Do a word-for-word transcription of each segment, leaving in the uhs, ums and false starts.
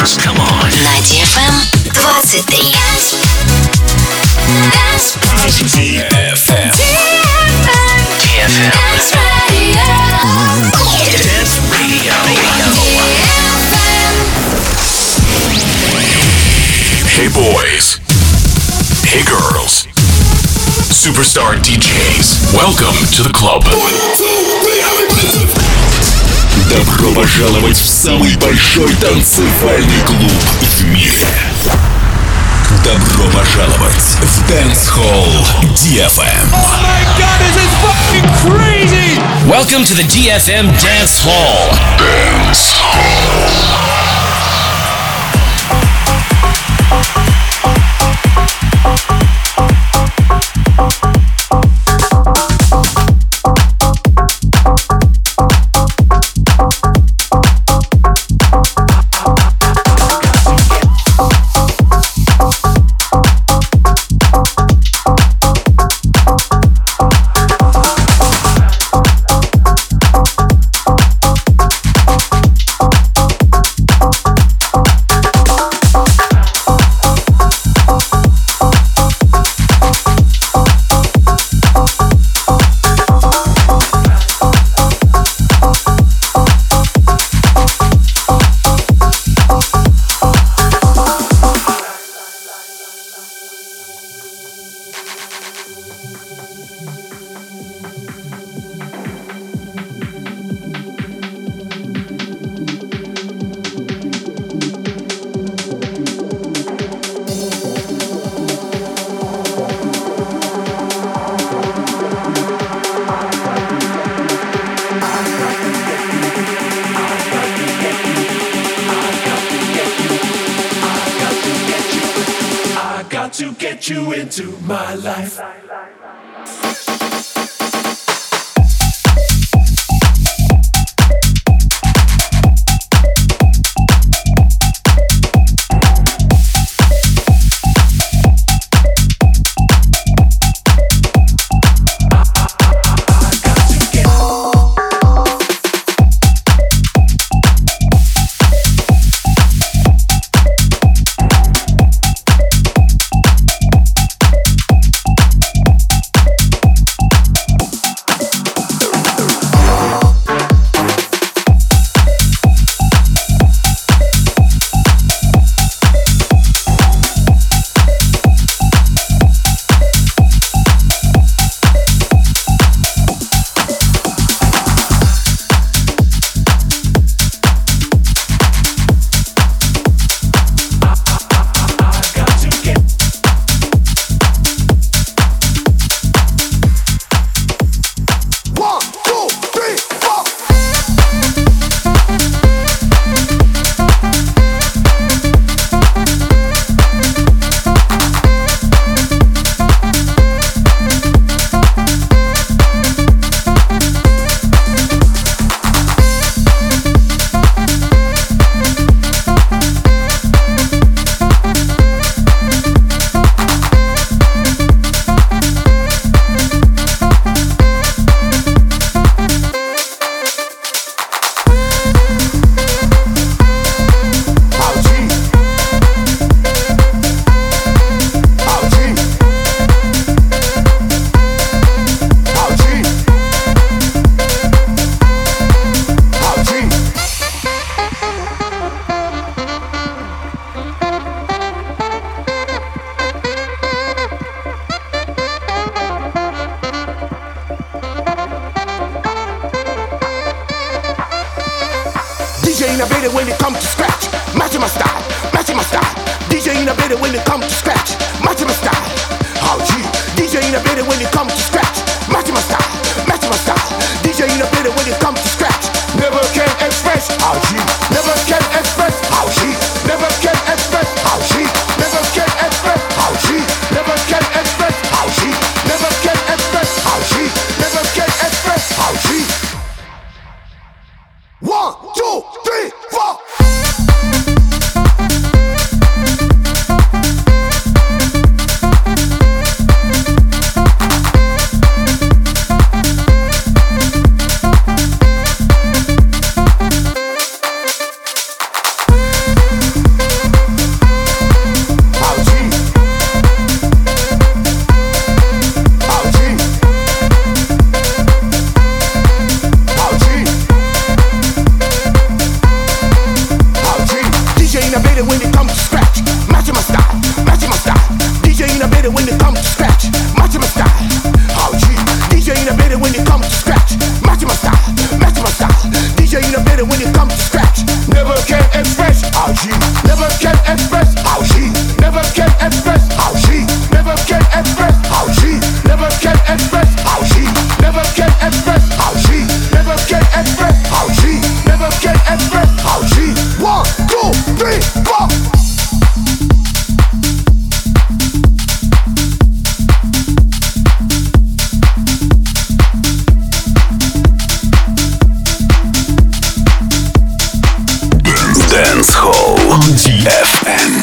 dance. Come on. На ди эф эм двадцать три. ди эф эм. ди эф эм. Dance Radio. Hey boys. Hey girls. Superstar ди джейс. Welcome to the club. Добро пожаловать в самый большой танцевальный клуб в мире. Добро пожаловать в Dance Hall ди эф эм. Oh my God, this is fucking crazy! Welcome to the ди эф эм Dance Hall. Dance Hall. To get you into my life. innovative when it comes to scratch. Matching my style, matching my style. D J innovative when it comes to scratch. Matching my style. Oh gee, D J innovative when it comes to scratch. Matching my style, matching my style. D J innovative when it comes to scratch. Never can express. Oh gee, never can express. Oh gee, never can express. Oh gee, never can express. Oh gee, never can express. Oh gee, never can express. Oh gee, never can express. Oh gee. One, two, three, four. Dance Hall on ди эф эм.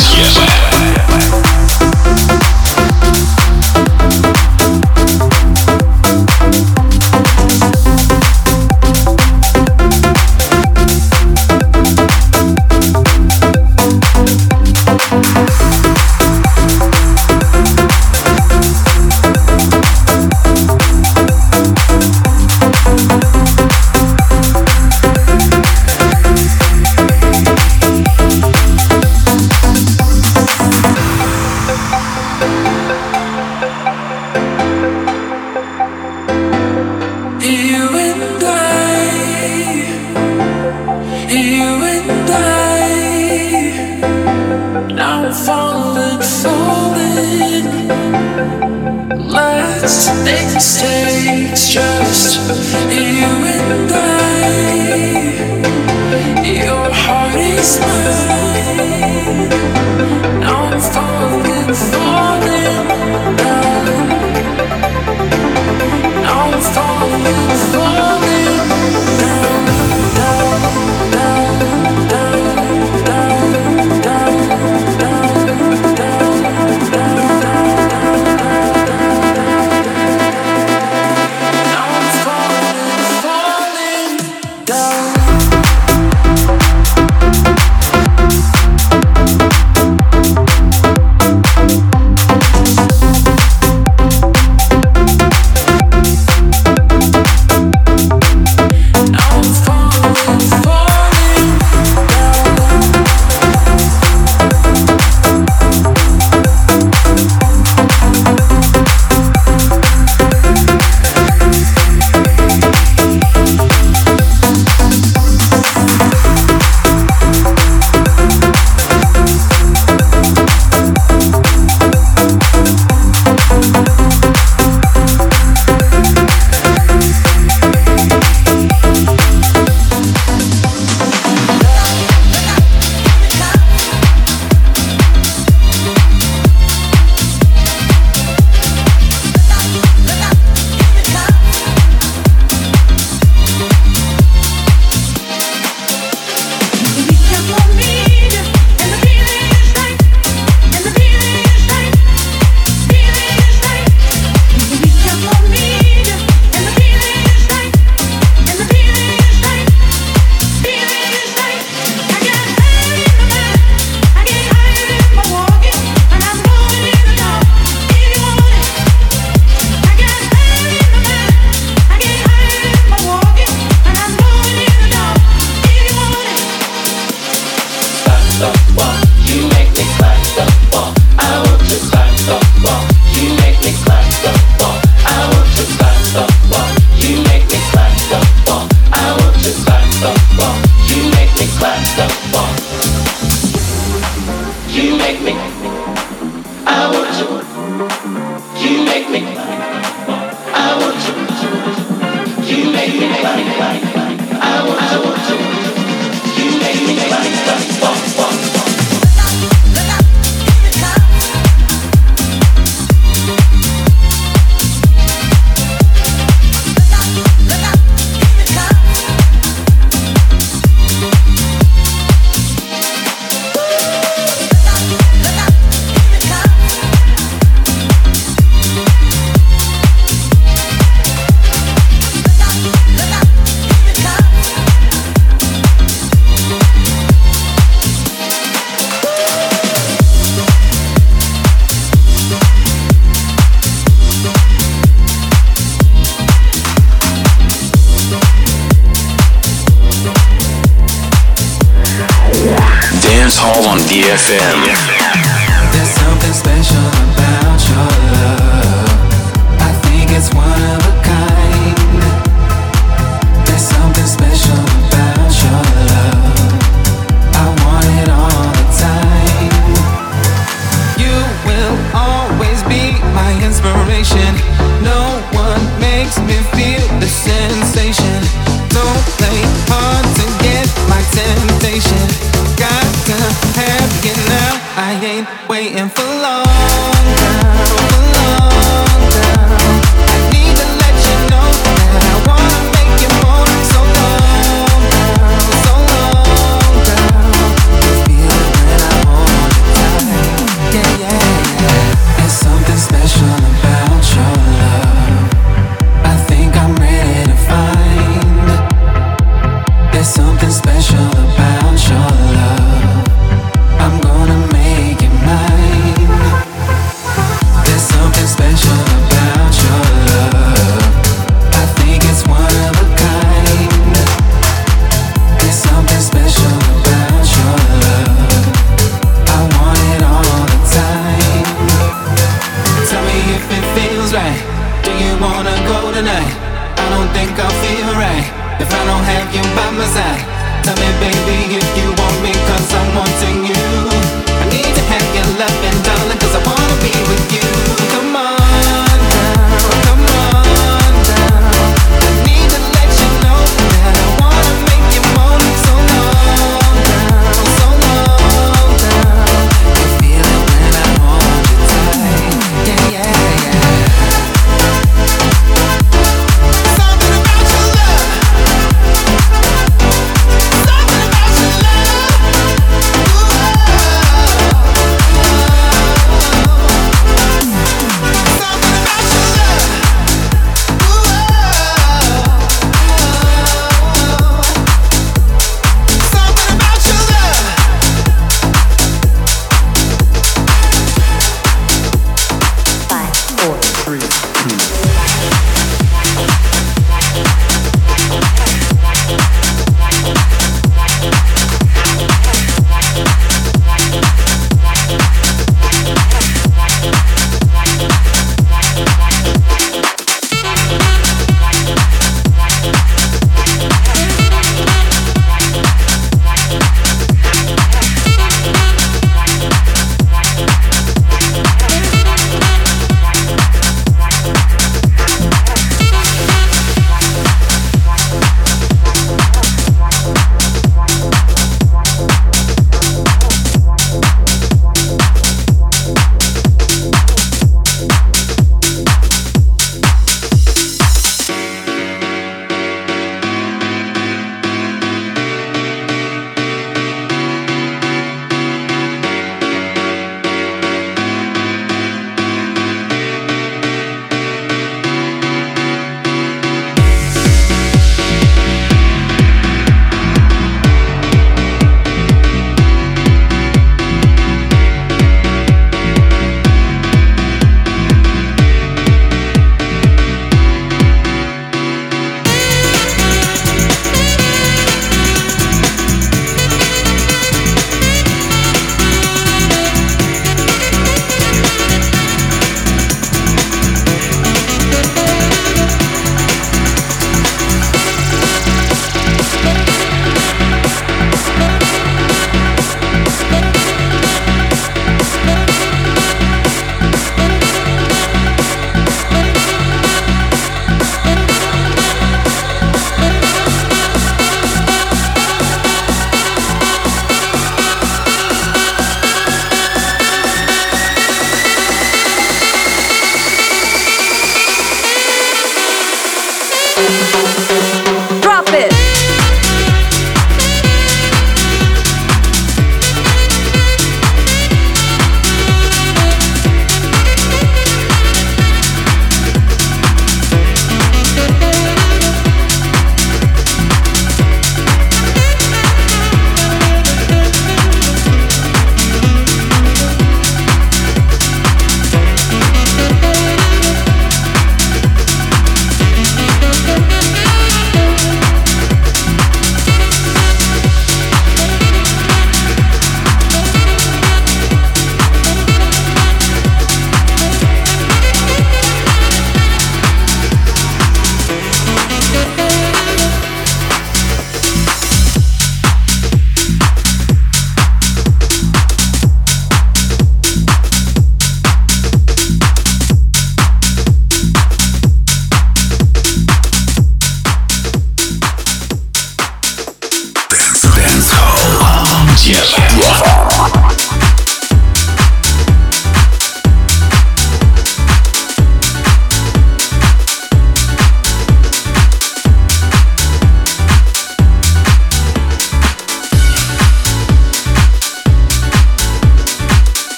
ди эф эм. There's something special about your love. I think it's one of a kind. There's something special about your love. I want it all the time. You will always be my inspiration. No one makes me feel the sensation. Don't play hard to get my temptation. Got to have you now. I ain't waiting for long now, for long now. I need to let you know that I wanna make you more. So long now, so long now. Tell me baby if you want me, cause I'm wanting you. I need to have your love and darling, cause I wanna be with you. Come on down, come on down. I need to let you know that I wanna make you moan. So long down, so long down. You feel it when I hold you tight. Yeah, yeah, yeah. Something about your love. Something about your love. Ooh.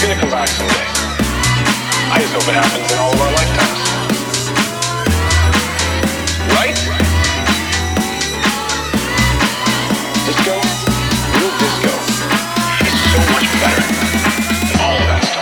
gonna come back someday. I just hope it happens in all of our lifetimes. Right? Disco, real disco, is so much better than all of that stuff.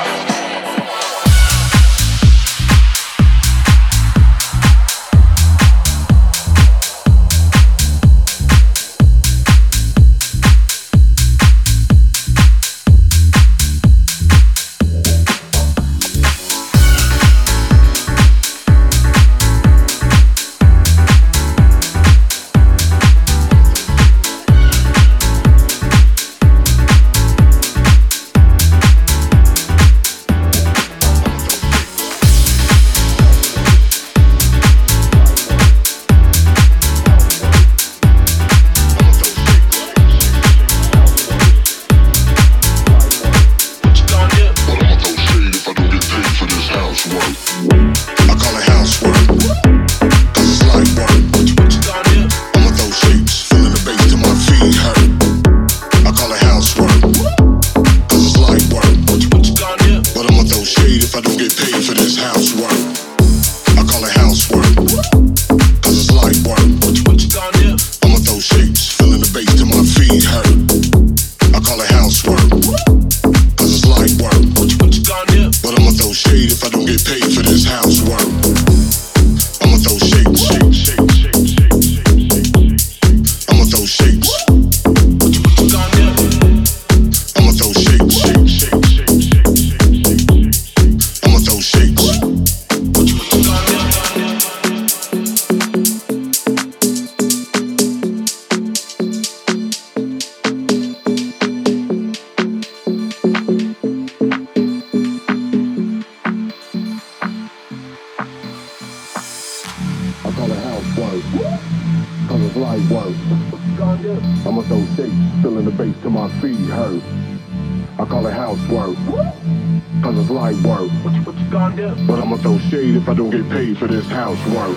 If I don't get paid for this housework,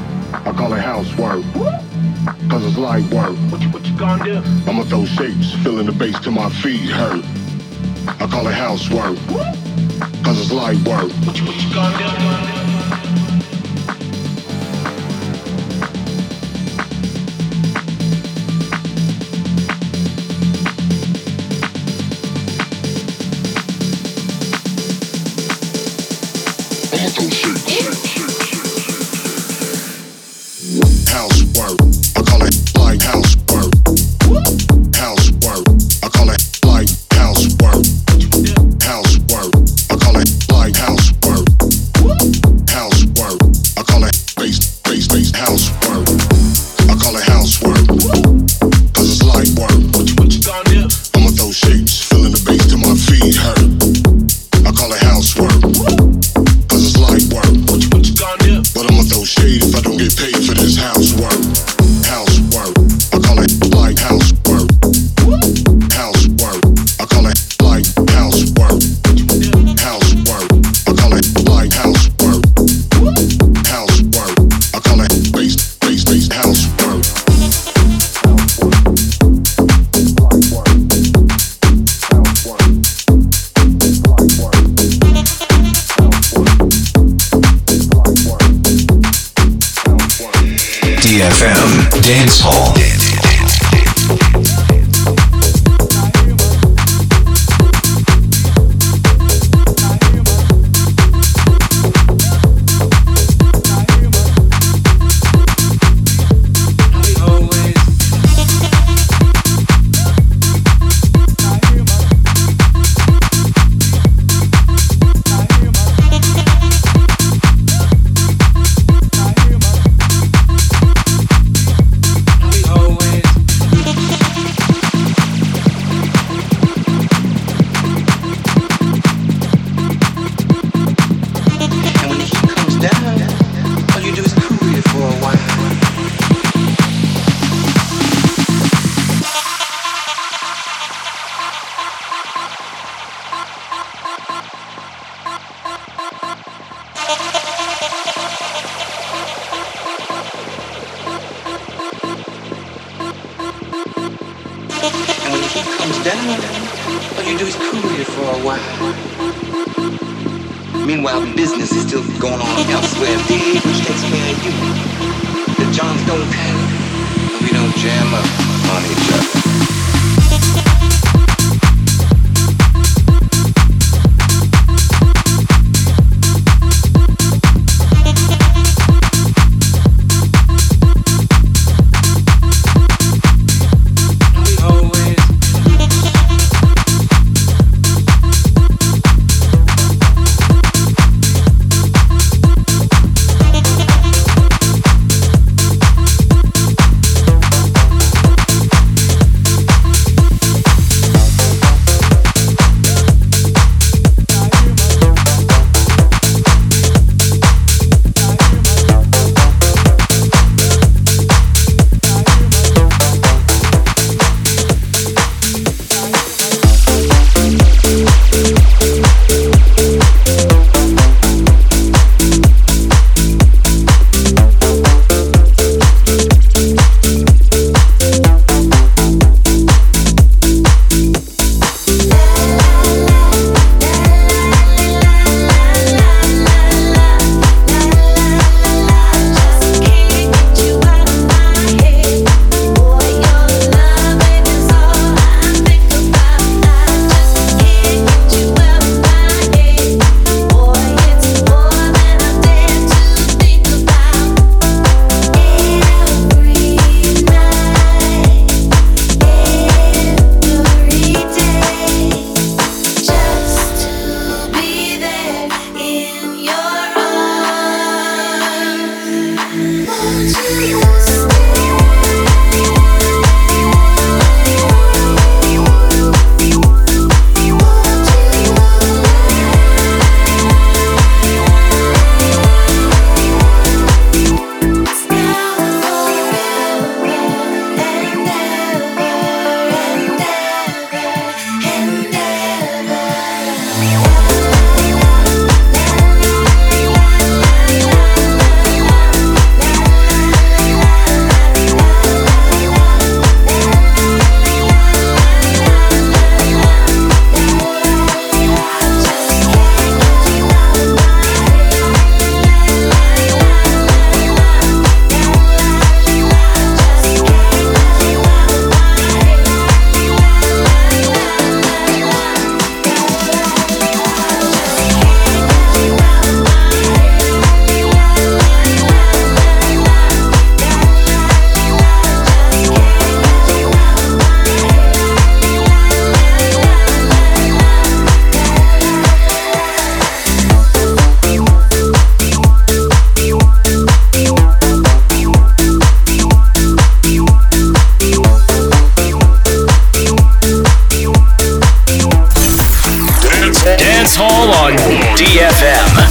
I call it housework, cause it's light work. What you, what you gonna do? I'ma throw shapes, feeling the bass till my feet hurt. I call it housework, cause it's light work. What you, what you gonna do? D F M Dance Hall. Oh All you do is cool here for a while. Meanwhile, business is still going on elsewhere, big, which takes care of you. The Johns don't panic, and we don't jam up on each other. D F M.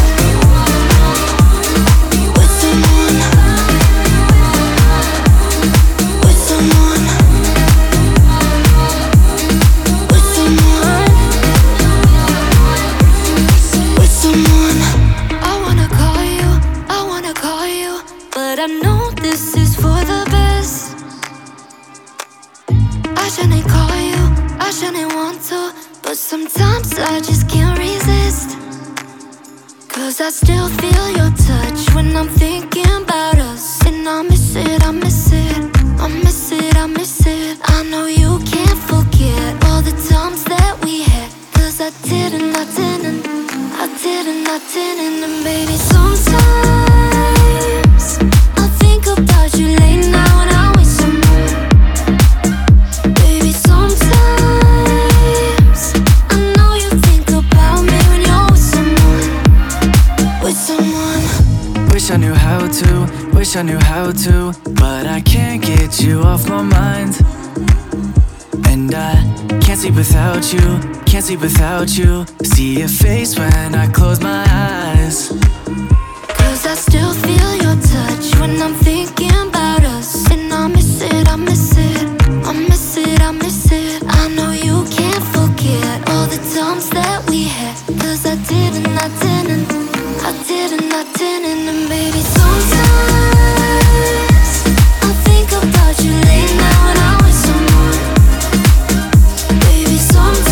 Sometimes I just can't resist, 'cause I still feel your touch when I'm thinking about us. And I miss it, I miss it, I miss it, I miss it. I know you can't forget all the times that we had, 'cause I didn't, I didn't, I didn't, I didn't. And baby, sometimes I think about you late now and I wish some more. Baby, sometimes wish I knew how to, wish I knew how to, but I can't get you off my mind. And I can't sleep without you, can't sleep without you. See your face when I close my eyes, 'cause I still feel your touch when I'm thinking about us. And I miss it, I miss it, I miss it, I miss it. I know you can't forget all the times that we had, 'cause I didn't, I didn't, I didn't, I didn't. And baby, sometimes I think about you late now and I wish some more. Baby, sometimes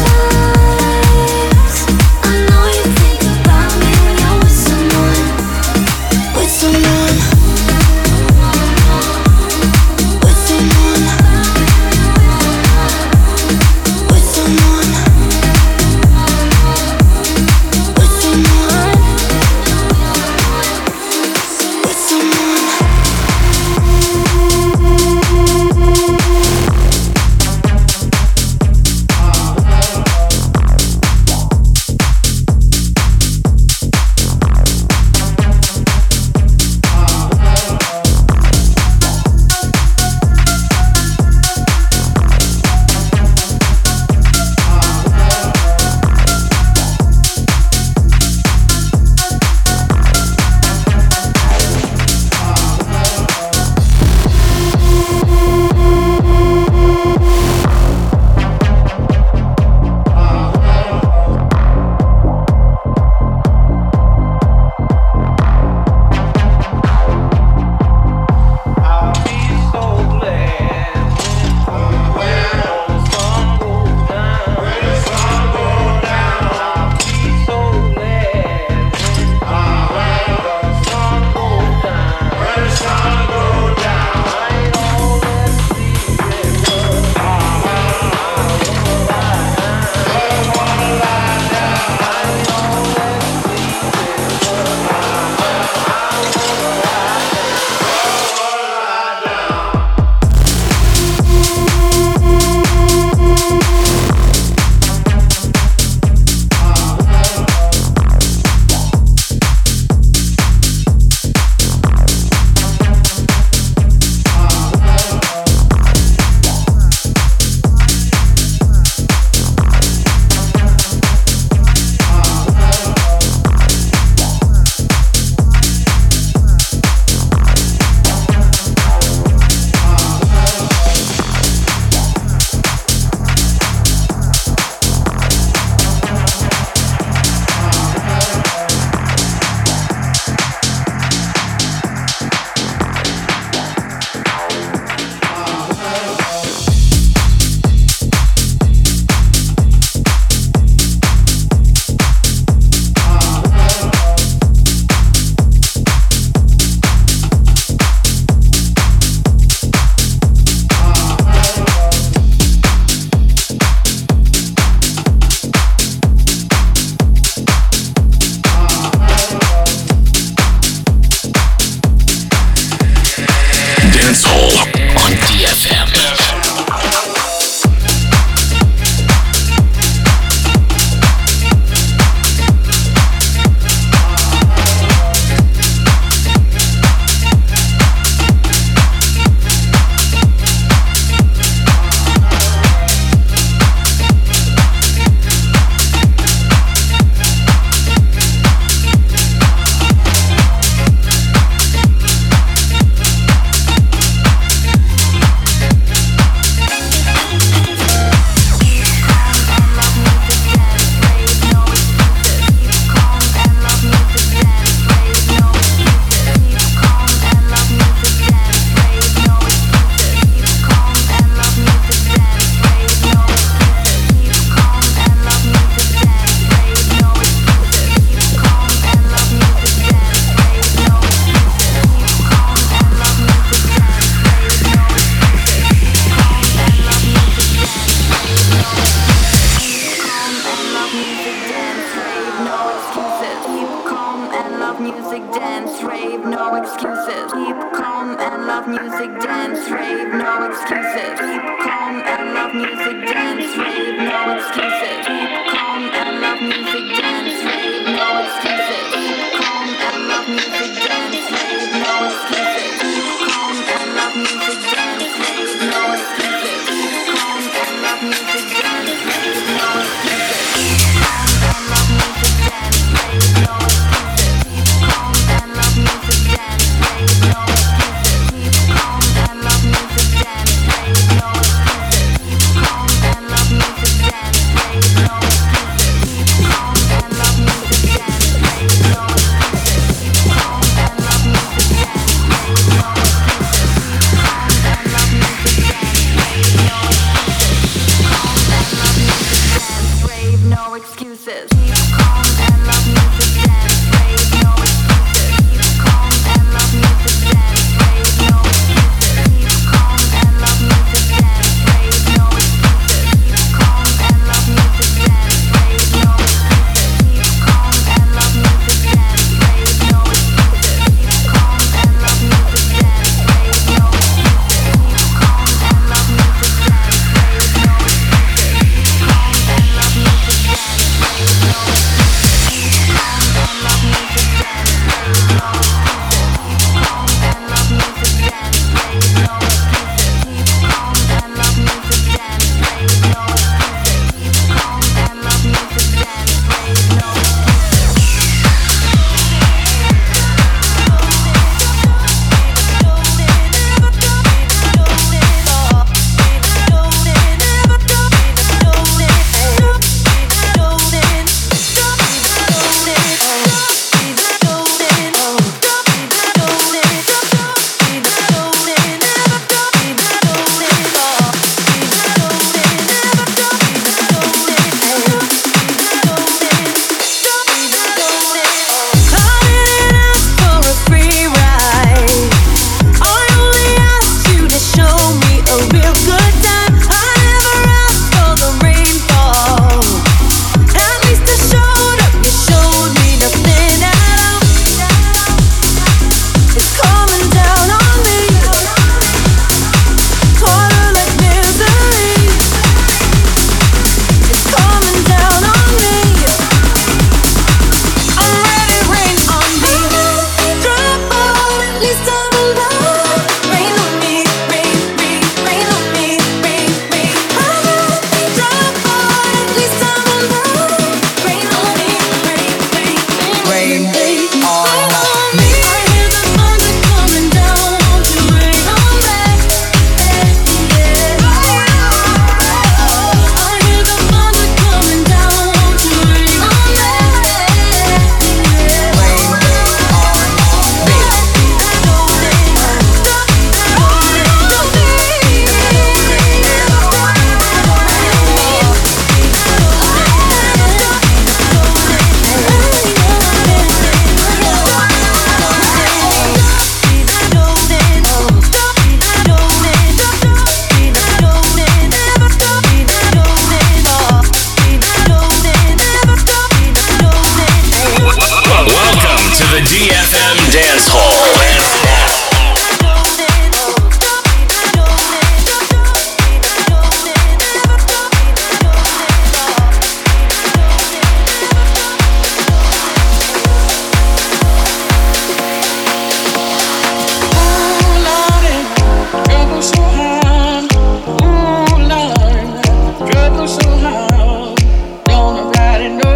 music, dance, rave, no excuses. Keep calm and love music, dance, rave, no excuses. Keep calm and love music, dance, rave, no excuses. Keep calm and love music, dance, rave, no excuses. Keep calm and love music, dance, rave, no excuses. Keep calm and love music, dance, rave, no excuses. Keep calm and love music, dance, rave, no excuses. Keep calm and love music, dance, rave, no excuses. Keep calm and love music, dance, rave, no excuses. Keep calm and love music, dance, rave, no excuses. Keep calm and love music, dance, rave, no excuses. Keep calm and love music, dance, rave, no excuses. Keep calm and love music, dance, rave, no excuses. Keep calm and love music, dance, rave, no excuses. Keep calm and love music, dance, rave, no excuses. Keep calm and love music, dance, rave, no excuses. Keep calm and love music, dance, rave, no excuses. Keep calm and love music, dance, rave, no excuses. Keep calm and love music, dance, rave, no excuses. Keep calm and love music, dance, rave, no excuses. Keep calm and love music, dance, rave, no excuses. Keep calm and love music, dance, rave, no excuses. Keep calm and love music, dance, rave, no excuses. Keep calm and love music, dance, rave, no excuses. Keep calm and love music, dance, rave, no excuses. Keep calm and love music, dance, rave, no excuses. Keep calm and love music, dance, rave, no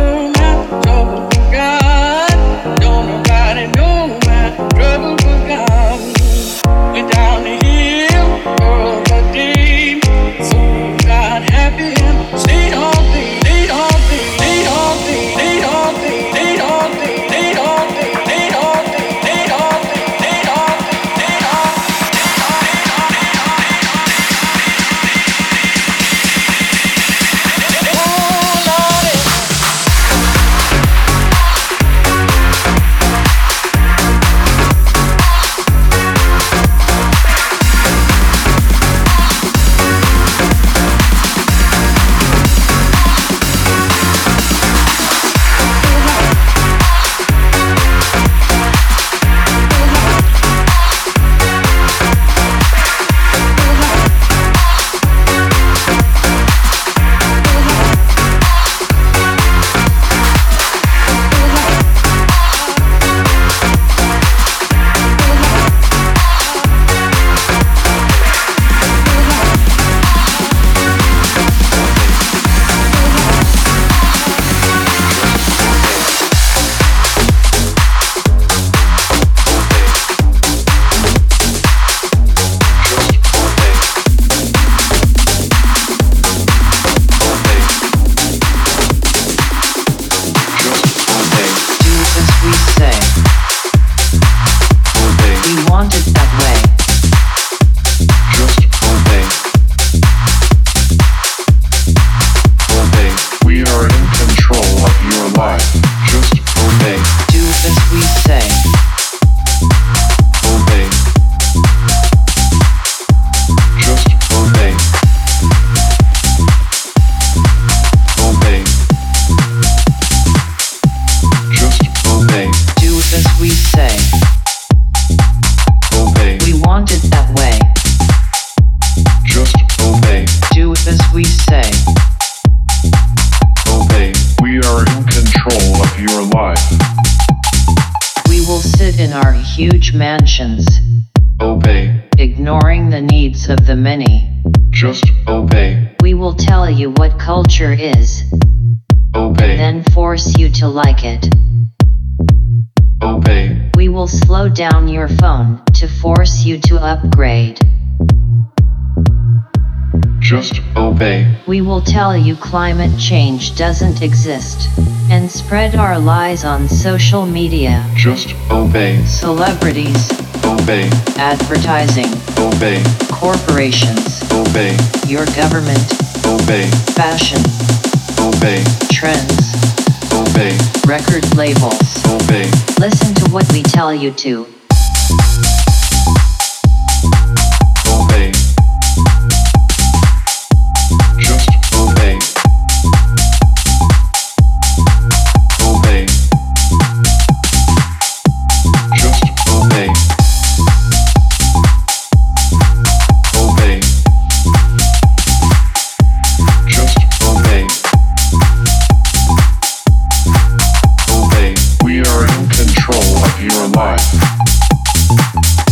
Trouble for God. control of your life. We will sit in our huge mansions, Obey. ignoring the needs of the many. Just obey. We will tell you what culture is, Obey. then force you to like it. Obey. We will slow down your phone to force you to upgrade. Just obey. We will tell you climate change doesn't exist, and spread our lies on social media. Just obey. Celebrities, Obey. advertising, Obey. corporations, Obey. your government, Obey. fashion, Obey. trends, Obey. record labels. Obey. Listen to what we tell you to. Obey. Just obey. Obey. Just obey. Obey. Just obey. Obey. We are in control of your life.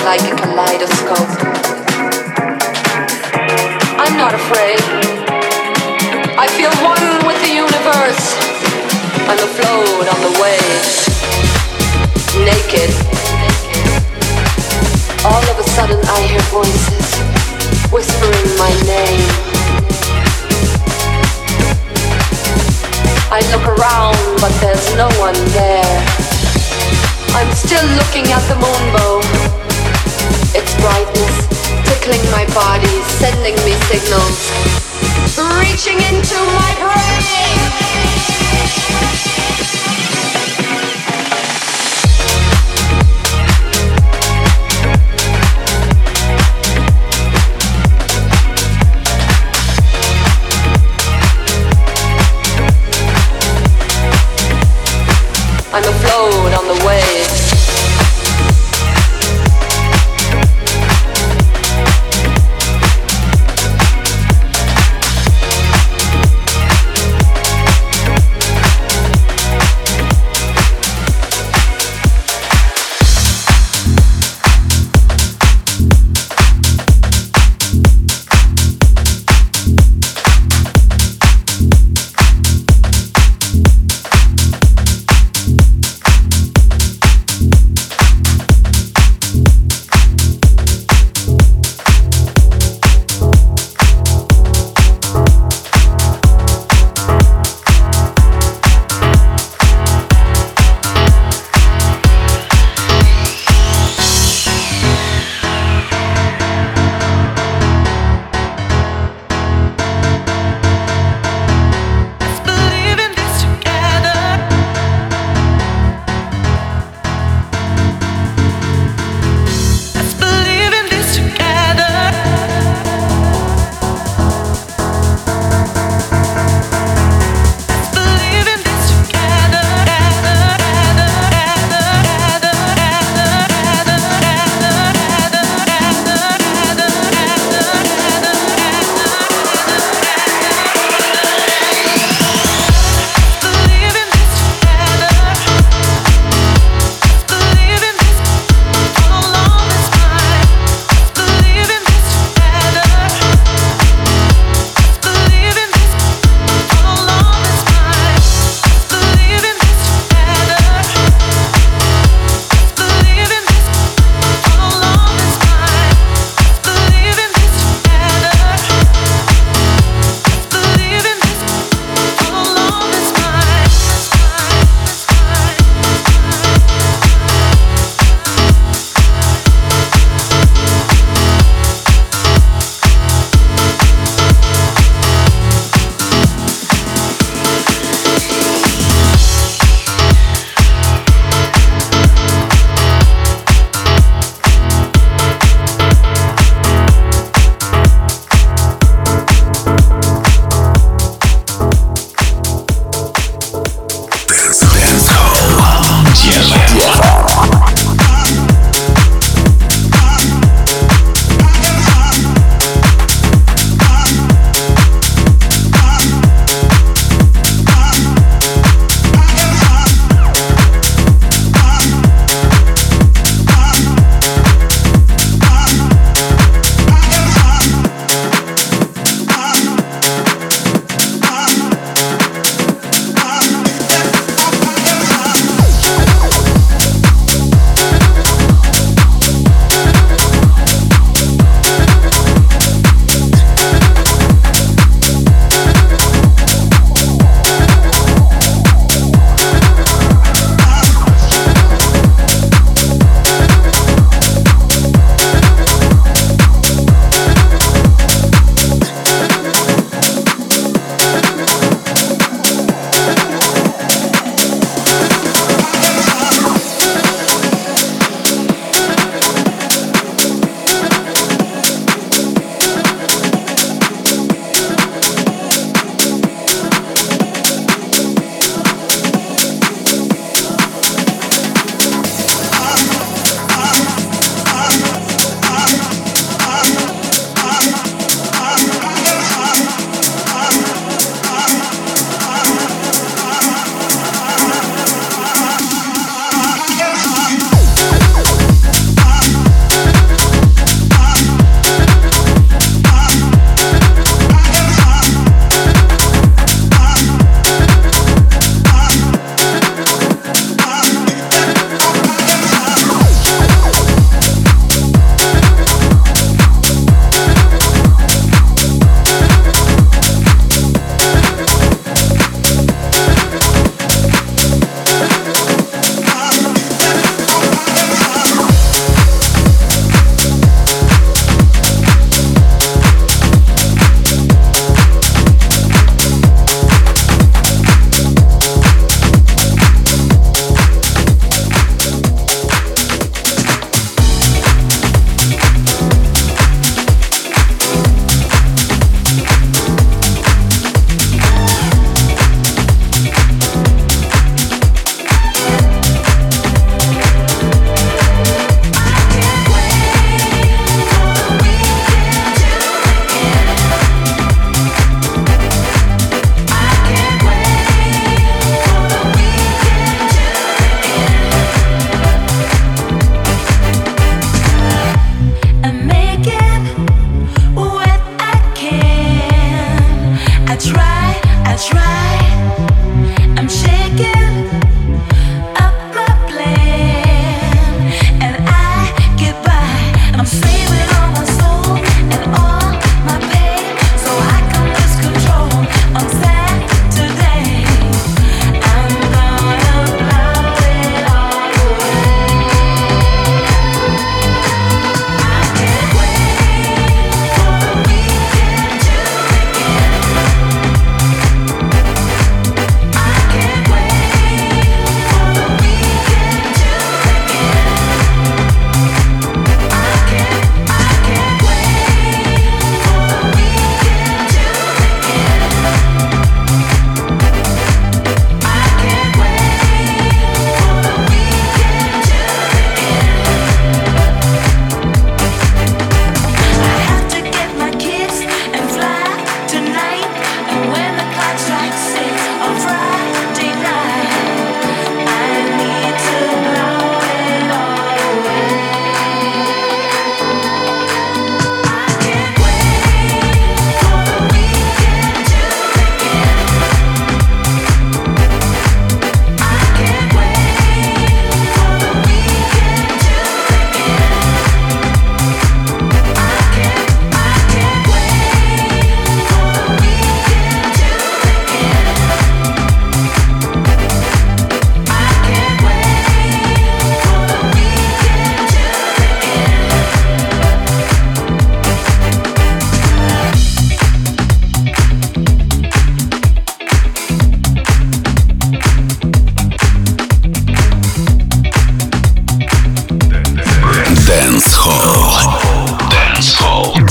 like a kaleidoscope. I'm not afraid. I feel one with the universe. I'm afloat on the waves, naked. All of a sudden I hear voices whispering my name. I look around, but there's no one there. I'm still looking at the moonbow. Its brightness tickling my body, sending me signals, reaching into my brain. I'm afloat on the waves.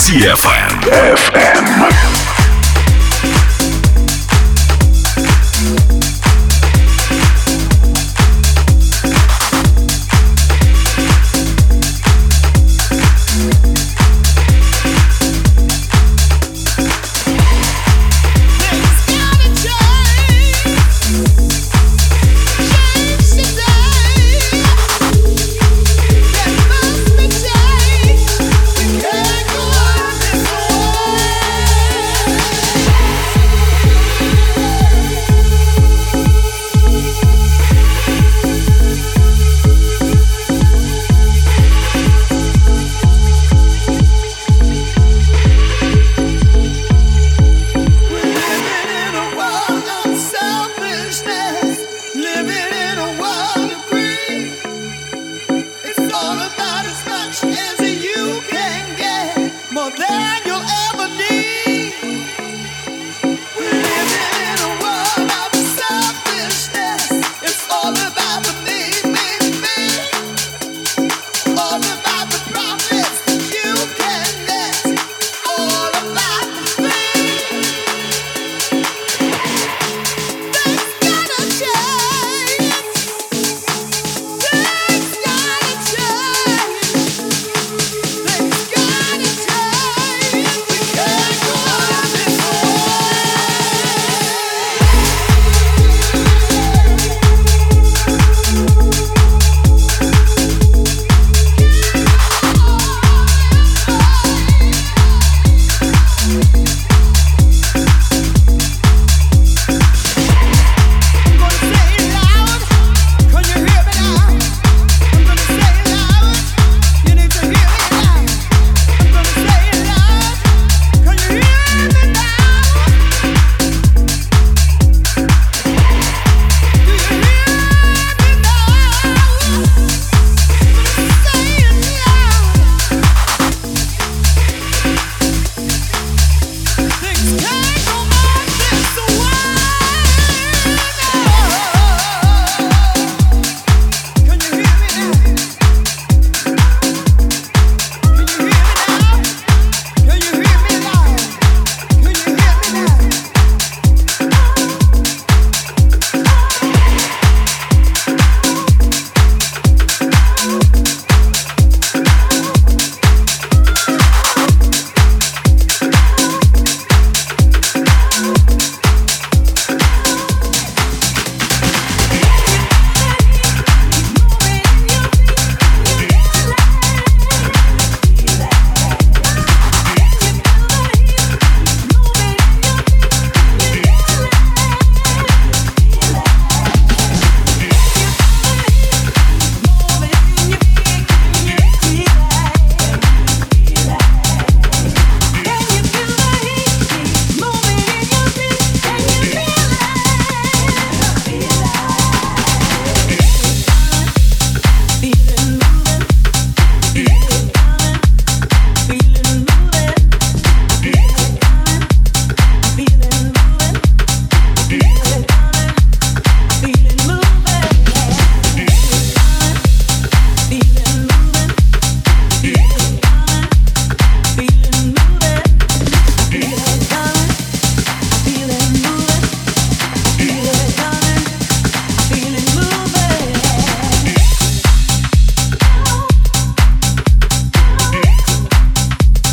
ди эф эм. эф эм. More than